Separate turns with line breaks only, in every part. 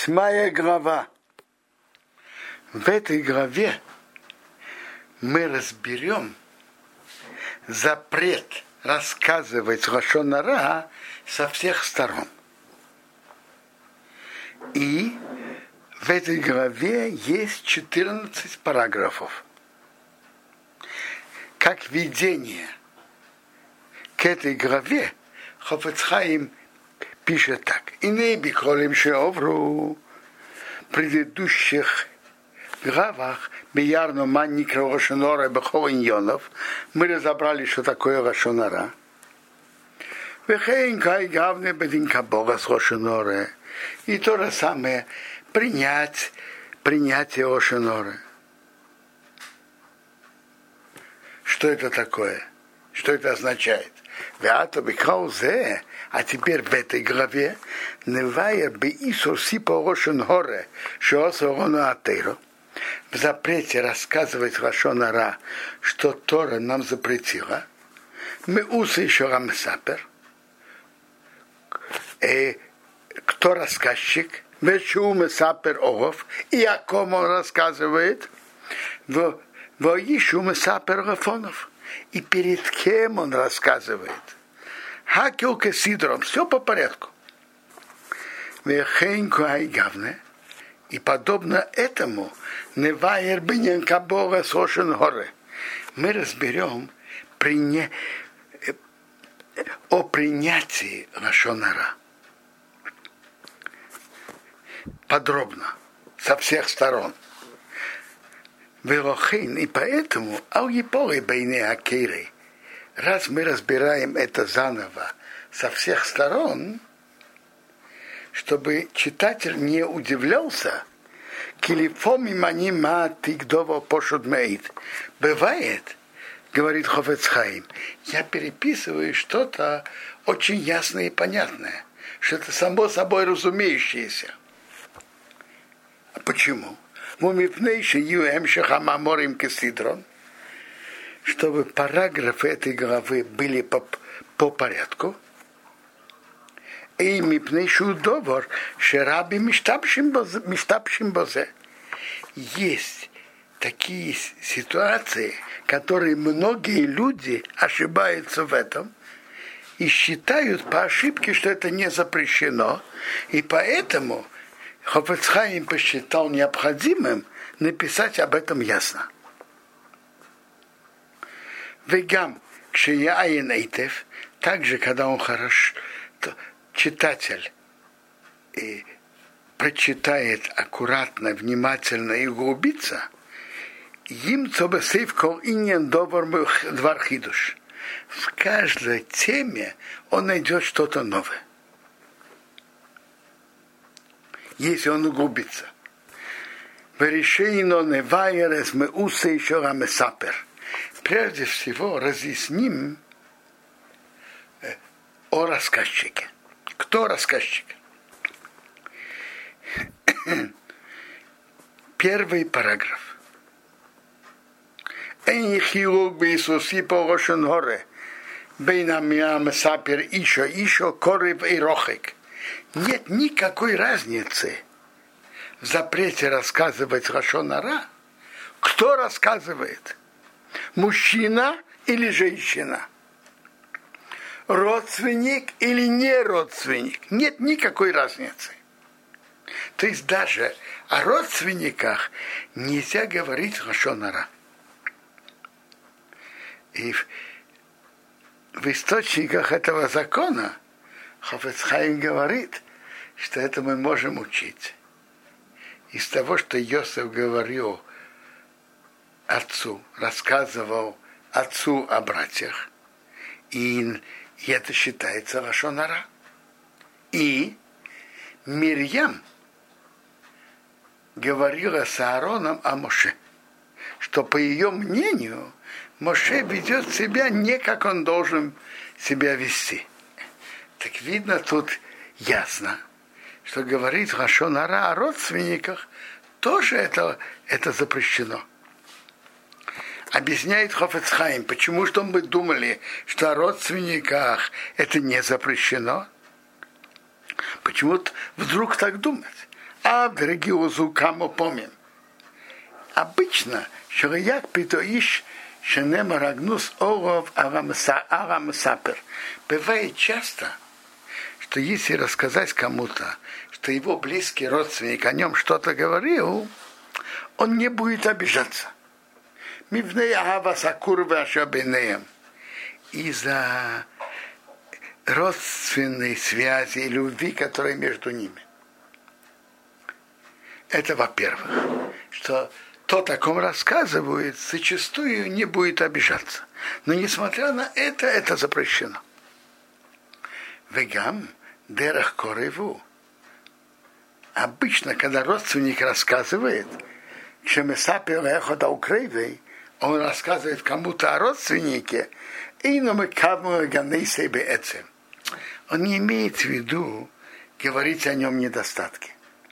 8 глава. В этой главе мы разберем запрет рассказывать лашон ара со всех сторон. И в этой главе есть 14 параграфов. Как введение к этой главе Хафец Хаим пишет так. «Иней биколим шеовру» в предыдущих главах Биярну Манникра лашон ара бехол иньонов мы разобрали, что такое лашон ара. Вехейн кай гавне бедин кабога с лашон ара. И то же самое принятие лашон ара. Что это такое? Что это означает? А теперь в этой главе в запрете рассказывать лашон ара, что Тора нам запретила. Мы усы еще рамсапер. Кто рассказчик? Вешу месапер огов. И о ком он рассказывает? Воишу месапер гафонов. И перед кем он рассказывает? Хакел кесидром. Все по порядку. Вехенку айгавне. И подобно этому невайер бинен кабога сошен горе. Мы разберем о принятии лашон ара. Подробно. Со всех сторон. И поэтому раз мы разбираем это заново со всех сторон, чтобы читатель не удивлялся, бывает, говорит Хафец Хаим, я переписываю что-то очень ясное и понятное, что это само собой разумеющееся. А почему? Чтобы параграфы этой главы были по порядку. И есть такие ситуации, которые многие люди ошибаются в этом и считают по ошибке, что это не запрещено, и поэтому Хафец Хаим посчитал необходимым написать об этом ясно. Вегам кшеяин эйтев, также, когда он хорошо, читатель и прочитает аккуратно, внимательно и углубится, им цобесейв кол иньян довар двар хидуш. В каждой теме он найдет что-то новое. Если он углубится. Прежде всего разъясним о рассказчике. Кто рассказчик? Первый параграф. Нет никакой разницы в запрете рассказывать лашон ара. Кто рассказывает? Мужчина или женщина? Родственник или не родственник? Нет никакой разницы. То есть даже о родственниках нельзя говорить лашон ара. И в источниках этого закона Хафец Хаим говорит, что это мы можем учить из того, что Йосеф говорил отцу, рассказывал отцу о братьях, и это считается лашон ара. И Мирьям говорила с Аароном о Моше, что по ее мнению Моше ведет себя не как он должен себя вести. Так видно тут ясно, что говорить лашон ара о родственниках тоже это запрещено. Объясняет Хафец Хаим, почему что мы думали, что о родственниках это не запрещено. Почему вдруг так думать? А в региозу камо помним. Обычно, шарияк питоиш шенема рагнус оров арамсапер. Бывает часто, что если рассказать кому-то, что его близкий родственник о нем что-то говорил, он не будет обижаться. Из-за родственной связи и любви, которая между ними. Это во-первых, что тот, о ком рассказывает, зачастую не будет обижаться. Но несмотря на это запрещено. Вегам дерах кореву. Обычно, когда родственник рассказывает, он рассказывает кому-то о родственнике, он не имеет в виду говорить о нем недостатки.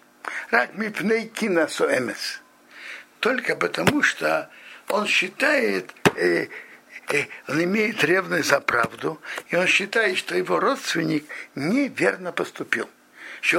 Только потому, что он считает, он имеет ревность за правду, и он считает, что его родственник неверно поступил. По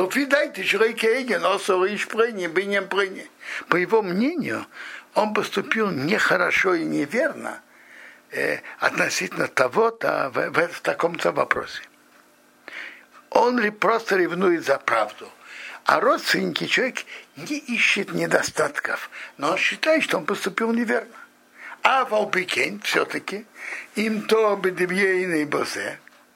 его мнению, он поступил нехорошо и неверно относительно того-то в таком-то вопросе. Он просто ревнует за правду. А родственники человек не ищет недостатков, но он считает, что он поступил неверно. А Валбикен все-таки им то бедевейный бозе.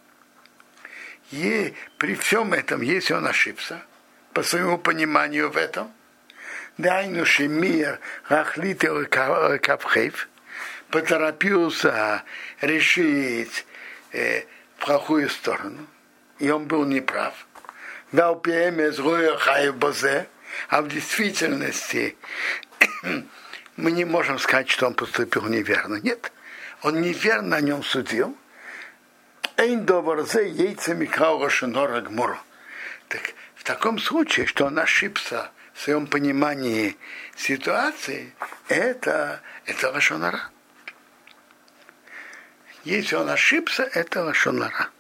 И при всем этом, если он ошибся, по своему пониманию в этом, дайнуши мир рахлите капхейв, поторопился решить в плохую сторону, и он был неправ. А в действительности мы не можем сказать, что он поступил неверно. Нет, он неверно о нем судил. Так в таком случае, что он ошибся в своем понимании ситуации, это лашон ара. Если он ошибся, это лашон ара.